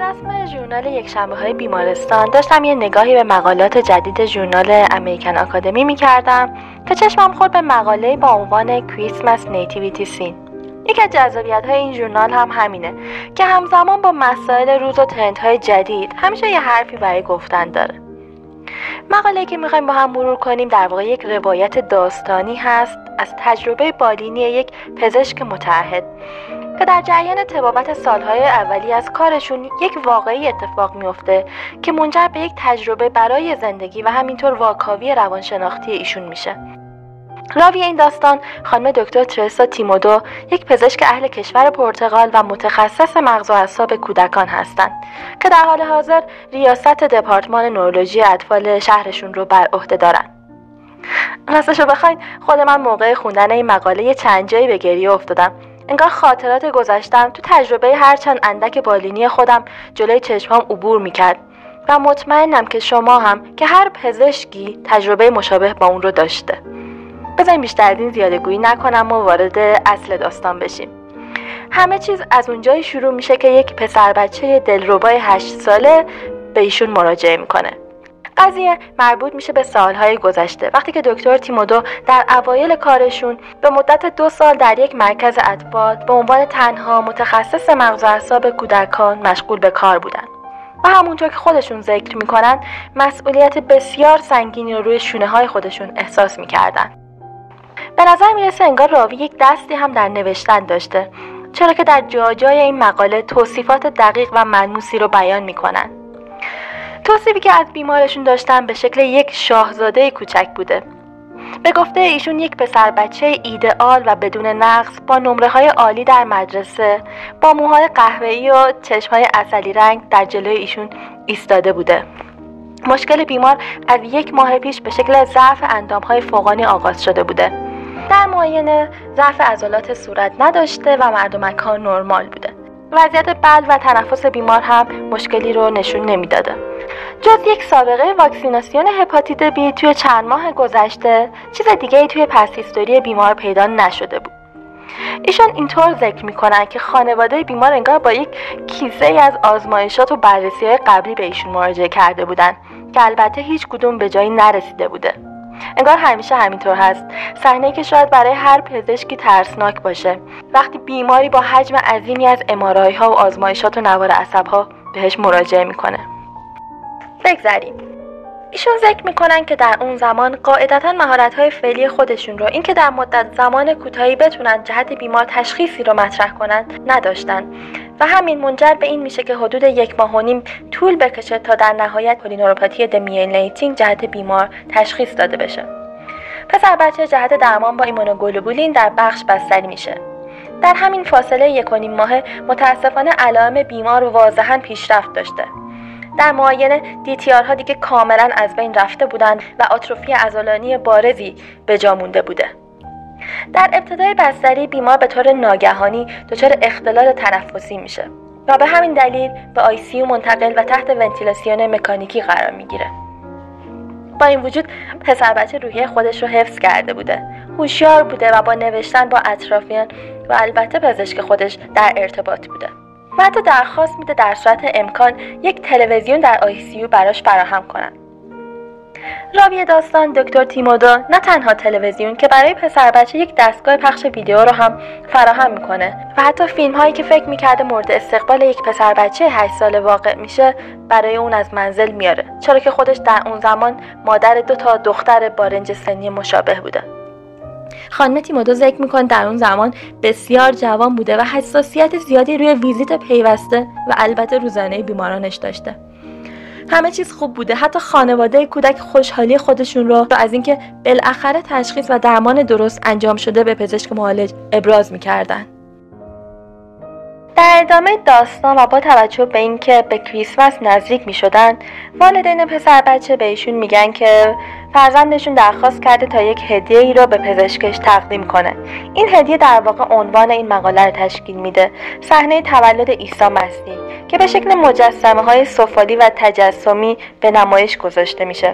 رسم ژورنال یکشنبه‌های بیمارستان داشتم یه نگاهی به مقالات جدید ژورنال امریکن آکادمی می‌کردم که چشمم خورد به مقاله‌ای با عنوان کریسمس نیتیویتی سین. یکی از جذابیت‌های این ژورنال هم همینه که همزمان با مسائل روز و ترندهای جدید همیشه یه حرفی برای گفتن داره. مقاله‌ای که می‌خوایم با هم مرور کنیم در واقع یک روایت داستانی هست از تجربه بالینی یک پزشک متعهد که در جریان طبابت سالهای اولی از کارشون یک واقعی اتفاق میفته که منجر به یک تجربه برای زندگی و همینطور واکاوی روانشناختی ایشون میشه. راوی این داستان خانم دکتر ترسا تیمودو، یک پزشک اهل کشور پرتغال و متخصص مغز و اعصاب کودکان هستند که در حال حاضر ریاست دپارتمان نورولوژی اطفال شهرشون رو بر عهده دارن. راستشو بخواید خود من موقع خوندن این مقاله چند جایی به گریه افتادم. انگار خاطرات گذشتم تو تجربه هرچند اندک بالینی خودم جلوی چشمام عبور میکرد و مطمئنم که شما هم که هر پزشکی تجربه مشابه با اون رو داشته. بذاریم بیشتر از این زیادگویی نکنم و وارد اصل داستان بشیم. همه چیز از اونجایی شروع میشه که یک پسر بچه دلربای 8 ساله به ایشون مراجعه میکنه. قضیه مربوط میشه به سالهای گذشته وقتی که دکتر تیمودو در اوایل کارشون به مدت 2 سال در یک مرکز اطفال به عنوان تنها متخصص مغز و اعصاب کودکان مشغول به کار بودن و همونطور که خودشون ذکر میکنن مسئولیت بسیار سنگینی رو روی شونه های خودشون احساس میکردن. به نظر میرسه انگار راوی یک دستی هم در نوشتن داشته، چرا که در جای این مقاله توصیفات دقیق و ملموسی رو بیان میکنن. توصیفی که از بیمارشون داشتن به شکل یک شاهزاده کوچک بوده. به گفته ایشون یک پسر بچه ایدئال و بدون نقص با نمره‌های عالی در مدرسه با موهای قهوه‌ای و چشم‌های عسلی رنگ در جلوی ایشون ایستاده بوده. مشکل بیمار از 1 ماه پیش به شکل ضعف اندام‌های فوقانی آغاز شده بوده. در معاینه ضعف عضلات صورت نداشته و مردمک ها نرمال بوده. وضعیت بلع و تنفس بیمار هم مشکلی رو نشون نمیداده. جز یک سابقه واکسیناسیون هپاتیت بی توی چند ماه گذشته چیز دیگه ای توی پس هیستوری بیمار پیدا نشده بود. ایشون اینطور ذکر میکنن که خانواده بیمار انگار با یک کیسه ای از آزمایشات و بررسی‌های قبلی به ایشون مراجعه کرده بودن که البته هیچ کدوم به جایی نرسیده بوده. انگار همیشه همینطور هست، صحنه‌ای که شاید برای هر پزشکی ترسناک باشه وقتی بیماری با حجم عظیمی از MRI ها و آزمایشات و نوار عصب‌ها بهش مراجعه میکنه. بگذریم. ایشون ذکر میکنن که در اون زمان قاعدتاً مهارت‌های فعلی خودشون رو اینکه در مدت زمان کوتاهی بتونن جهت بیمار تشخیصی رو مطرح کنن نداشتن و همین منجر به این میشه که حدود 1 ماه و نیم طول بکشه تا در نهایت پولینوروپاتی دمیلینیتینگ جهت بیمار تشخیص داده بشه. پسر بچه جهت درمان با ایمونوگلوبولین در بخش بستری میشه. در همین فاصله 1 و نیم ماه متاسفانه علائم بیمار واضحاً پیشرفت داشته. در معاینه DTR ها دیگه کاملا از بین رفته بودن و آتروفی عضلانی بارزی به جا مونده بوده. در ابتدای بستری بیمار به طور ناگهانی دچار اختلال تنفسی میشه و به همین دلیل به ICU منتقل و تحت ونتیلاسیون مکانیکی قرار میگیره. با این وجود پسر بچه روحیه خودش رو حفظ کرده بوده، هوشیار بوده و با نوشتن با اطرافیان و البته پزشک خودش در ارتباط بوده و حتی درخواست میده در صورت امکان یک تلویزیون در ICU براش فراهم کنن. راوی داستان دکتر تیمودو نه تنها تلویزیون که برای پسر بچه یک دستگاه پخش ویدیو رو هم فراهم میکنه و حتی فیلم هایی که فکر میکرده مورد استقبال یک پسر بچه 8 ساله واقع میشه برای اون از منزل میاره، چرا که خودش در اون زمان مادر 2 تا دختر با رنج سنی مشابه بوده. خانم تیمودو ذکر میکنه در اون زمان بسیار جوان بوده و حساسیت زیادی روی ویزیت پیوسته و البته روزانه بیمارانش داشته. همه چیز خوب بوده، حتی خانواده کودک خوشحالی خودشون رو از اینکه بالاخره تشخیص و درمان درست انجام شده به پزشک معالج ابراز میکردن. در ادامه داستان و با توجه به اینکه به کریسمس نزدیک میشدن، والدین پسر بچه بهشون میگن که فرزندشون درخواست کرده تا یک هدیه‌ای رو به پزشکش تقدیم کنه. این هدیه در واقع عنوان این مقاله رو تشکیل میده، صحنه تولد عیسی مسیح که به شکل مجسمه‌های سفالی و تجسمی به نمایش گذاشته میشه.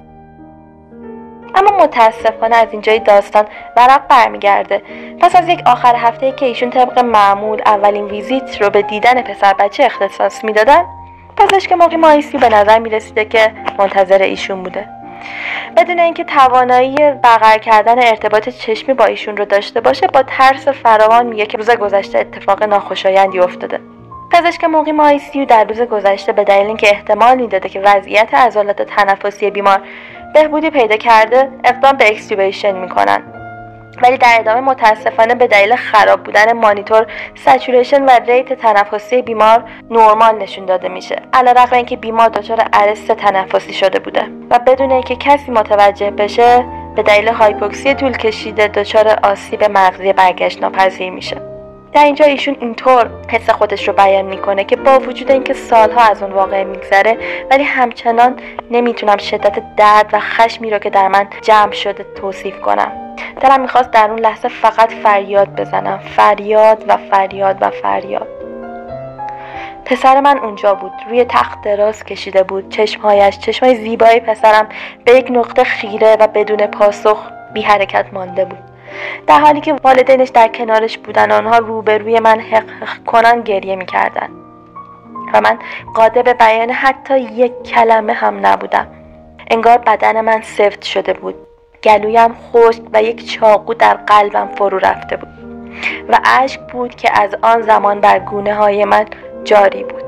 اما متاسفانه از اینجای داستان ورق برمیگرده. پس از یک آخر هفته‌ای که ایشون طبق معمول اولین ویزیت رو به دیدن پسر بچه اختصاص میدادن، پزشک مقیم ICU به نظر میرسیده که منتظر ایشون بوده، بدون اینکه توانایی برقرار کردن ارتباط چشمی با ایشون رو داشته باشه. با ترس فراوان میگه که روز گذشته اتفاق ناخوشایندی افتاده. پزشک مقیم ICU در روز گذشته به دلیل اینکه احتمال میداده که وضعیت عضلات تنفسی بیمار بهبودی پیدا کرده اقدام به اکستوبیشن میکنن، ولی در ادامه متاسفانه به دلیل خراب بودن مانیتور سچوریشن و ریت تنفسی بیمار نرمال نشون داده میشه، علیرغم اینکه بیمار دچار ارست تنفسی شده بوده و بدون اینکه کسی متوجه بشه به دلیل هایپوکسی طول کشیده دچار آسیب مغزی برگشت ناپذیر میشه. در اینجا ایشون اینطور حس خودش رو بیان میکنه که با وجود اینکه سالها از اون واقعه میگذره ولی همچنان نمیتونم شدت درد و خشمی رو که در من جمع شده توصیف کنم. دلم میخواست در اون لحظه فقط فریاد بزنم، فریاد و فریاد و فریاد. پسر من اونجا بود، روی تخت دراز کشیده بود، چشمای زیبای پسرم به یک نقطه خیره و بدون پاسخ بی حرکت مانده بود، در حالی که والدینش در کنارش بودن. آنها روبروی من حق کنان گریه میکردن و من قادر به بیان حتی یک کلمه هم نبودم. انگار بدن من سفت شده بود، گلویم خشک و یک چاقو در قلبم فرو رفته بود و اشک بود که از آن زمان بر گونه های من جاری بود.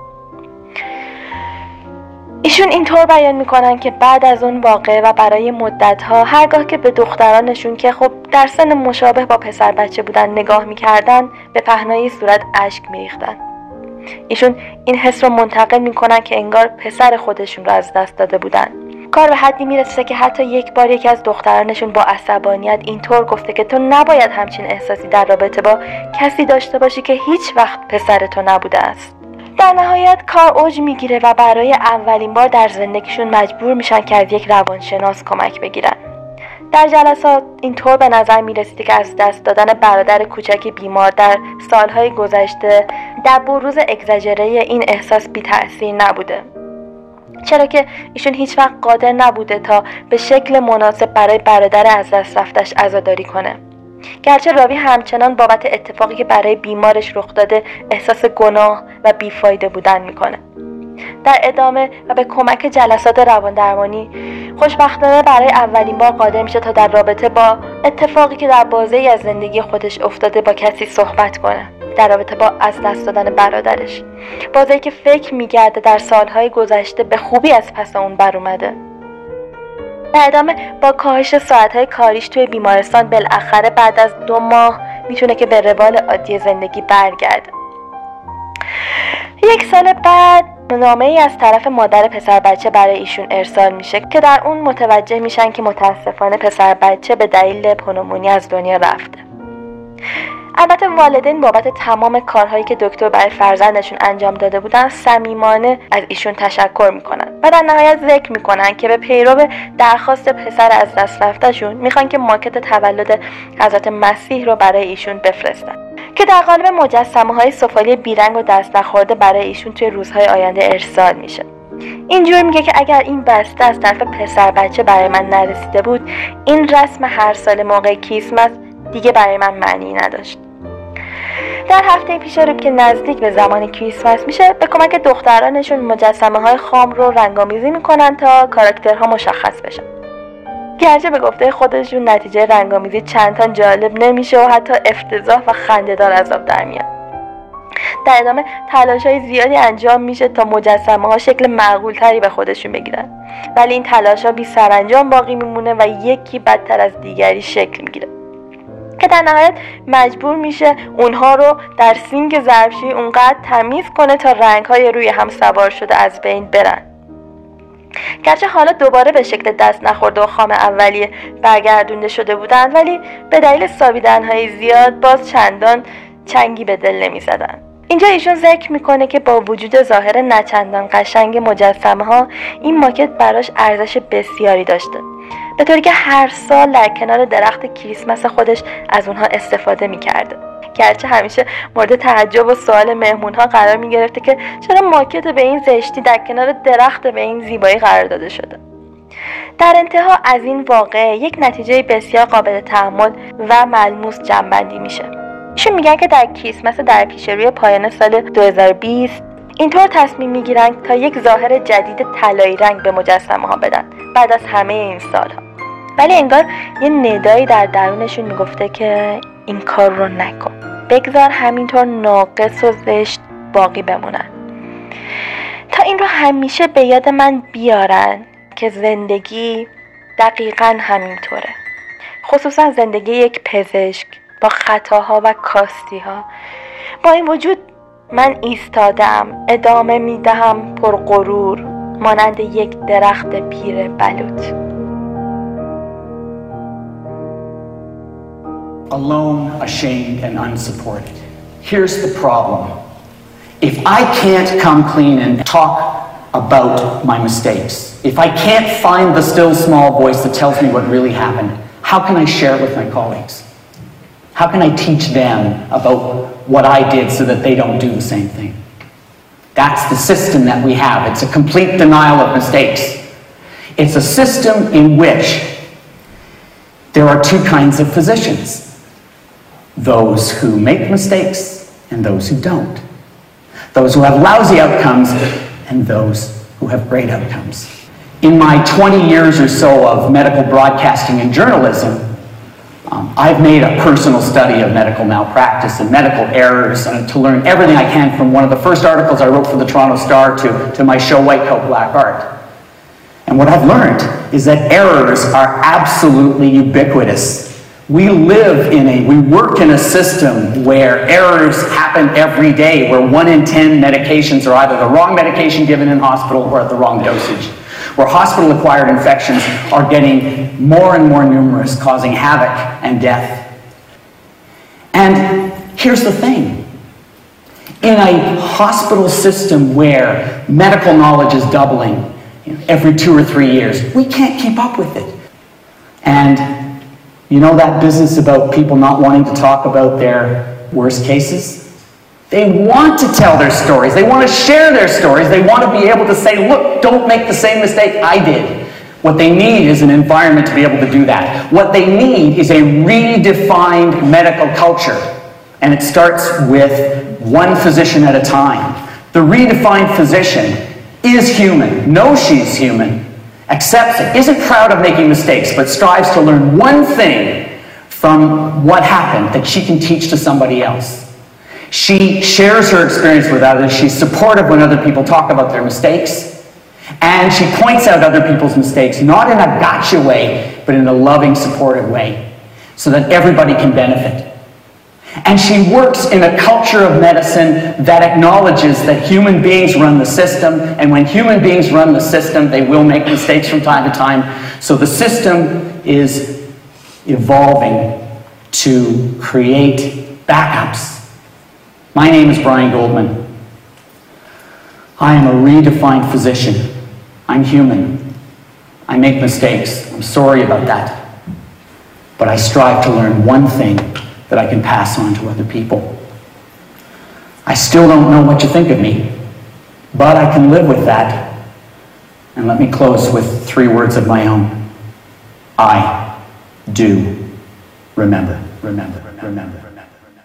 ایشون اینطور بیان میکنن که بعد از اون واقعه و برای مدتها هرگاه که به دخترانشون که خب در سن مشابه با پسر بچه بودن نگاه میکردن به پهنای صورت اشک میریختن. ایشون این حس رو منتقل میکنن که انگار پسر خودشون رو از دست داده بودن. کار به حدی میرسه که حتی یک بار یکی از دخترانشون با عصبانیت اینطور گفته که تو نباید همچین احساسی در رابطه با کسی داشته باشی که هیچ وقت پسر تو نبوده است. در نهایت کار اوج میگیره و برای اولین بار در زندگیشون مجبور میشن که از یک روانشناس کمک بگیرن. در جلسات اینطور به نظر میرسیده که از دست دادن برادر کوچک بیمار در سالهای گذشته در بروز اگزاجره این احساس بی تأثیر نبوده، چرا که ایشون هیچ وقت قادر نبوده تا به شکل مناسب برای برادر از دست رفتش عزاداری کنه. گرچه راوی همچنان بابت اتفاقی که برای بیمارش رخ داده احساس گناه و بیفایده بودن میکنه. در ادامه و به کمک جلسات رواندرمانی خوشبختانه برای اولین بار قادر میشه تا در رابطه با اتفاقی که در بازه‌ای از زندگی خودش افتاده با کسی صحبت کنه، در رابطه با از دست دادن برادرش، بازه‌ای که فکر می‌کرده در سالهای گذشته به خوبی از پس اون بر اومده. در ادامه با کاهش ساعت‌های کاریش توی بیمارستان بالاخره بعد از 2 ماه میتونه که به روال عادی زندگی برگرده. 1 سال بعد نامه‌ای از طرف مادر پسر بچه برای ایشون ارسال میشه که در اون متوجه میشن که متاسفانه پسر بچه به دلیل پنومونی از دنیا رفته. البته والدین بابت تمام کارهایی که دکتر برای فرزندشون انجام داده بودن صمیمانه از ایشون تشکر میکنن و در نهایت ذکر میکنن که به پیرو درخواست پسر از دست رفتهشون میخوان که ماکت تولد حضرت مسیح رو برای ایشون بفرستن که در قالب مجسمه‌های سفالی بیرنگ و دست نخورده برای ایشون توی روزهای آینده ارسال میشه. اینجور میگه که اگر این بسته از طرف پسر بچه برای من نرسیده بود، این رسم هر سال موقع کریسمس دیگه برای من معنی نداشت. در هفته پیش رو که نزدیک به زمان کریسمس میشه، به کمک دخترانشون مجسمه‌های خام رو رنگامیزی میکنن تا کاراکترها مشخص بشن. گرچه به گفته خودشون نتیجه رنگامیزی چند تا جالب نمیشه و حتی افتضاح و خنده‌دار از آب در میاد. در ادامه تلاش‌های زیادی انجام میشه تا مجسمه‌ها شکل معقول‌تری به خودشون بگیرن، ولی این تلاش‌ها بی سرانجام باقی میمونه و یکی بدتر از دیگری شکل میگیره که در نهایت مجبور میشه اونها رو در سینک ظرفشویی اونقدر تمیز کنه تا رنگ‌های روی هم سوار شده از بین برن. گرچه حالا دوباره به شکل دست نخورده و خام اولیه برگردونده شده بودن، ولی به دلیل سابیدن‌های زیاد باز چندان چنگی به دل نمی‌زدن. اینجا ایشون ذکر میکنه که با وجود ظاهر نچندان قشنگ مجسمه ها، این ماکت براش ارزش بسیاری داشته، به طوری که هر سال در کنار درخت کریسمس خودش از اونها استفاده میکرده. گرچه همیشه مورد تعجب و سوال مهمون ها قرار میگرفته که چرا ماکت به این زشتی در کنار درخت به این زیبایی قرار داده شده. در انتها از این واقعه یک نتیجه بسیار قابل تحمل و ملموس جمع‌بندی میشه. ایشون میگن که در کریسمس در پیش روی پایان سال 2020 اینطور تصمیم میگیرن تا یک ظاهر جدید طلایی رنگ به مجسمه ها بدن بعد از همه این سالها. ولی انگار یه ندایی در درونشون میگفته که این کار رو نکن، بگذار همینطور ناقص و زشت باقی بمونن، تا این رو همیشه به یاد من بیارن که زندگی دقیقاً همینطوره، خصوصا زندگی یک پزشک با خطاها و کاستیها. با این وجود من ایستادم، ادامه میدهم پرغرور، مانند یک درخت پیر بلوط. Alone, ashamed, and unsupported. Here's the problem. If I can't come clean and talk about my mistakes, if I can't find the still small voice that tells me what really happened, how can I share it with my colleagues? How can I teach them about what I did so that they don't do the same thing? That's the system that we have. It's a complete denial of mistakes. It's a system in which there are two kinds of physicians: those who make mistakes and those who don't. Those who have lousy outcomes and those who have great outcomes. In my 20 years or so of medical broadcasting and journalism, I've made a personal study of medical malpractice and medical errors, and to learn everything I can from one of the first articles I wrote for the Toronto Star to my show White Coat Black Art. And what I've learned is that errors are absolutely ubiquitous. We work in a system where errors happen every day, where 1 in 10 medications are either the wrong medication given in hospital or at the wrong dosage, where hospital-acquired infections are getting more and more numerous, causing havoc and death. And here's the thing. In a hospital system where medical knowledge is doubling every 2 or 3 years, we can't keep up with it. And you know that business about people not wanting to talk about their worst cases? They want to tell their stories. They want to share their stories. They want to be able to say, look, don't make the same mistake I did. What they need is an environment to be able to do that. What they need is a redefined medical culture. And it starts with one physician at a time. The redefined physician is human, knows she's human, accepts it, isn't proud of making mistakes, but strives to learn one thing from what happened that she can teach to somebody else. She shares her experience with others. She's supportive when other people talk about their mistakes. And she points out other people's mistakes, not in a gotcha way, but in a loving, supportive way, so that everybody can benefit. And she works in a culture of medicine that acknowledges that human beings run the system, and when human beings run the system, they will make mistakes from time to time. So the system is evolving to create backups. My name is Brian Goldman. I am a redefined physician. I'm human. I make mistakes. I'm sorry about that. But I strive to learn one thing that I can pass on to other people. I still don't know what you think of me, but I can live with that. And let me close with 3 words of my own. I do remember, remember, remember.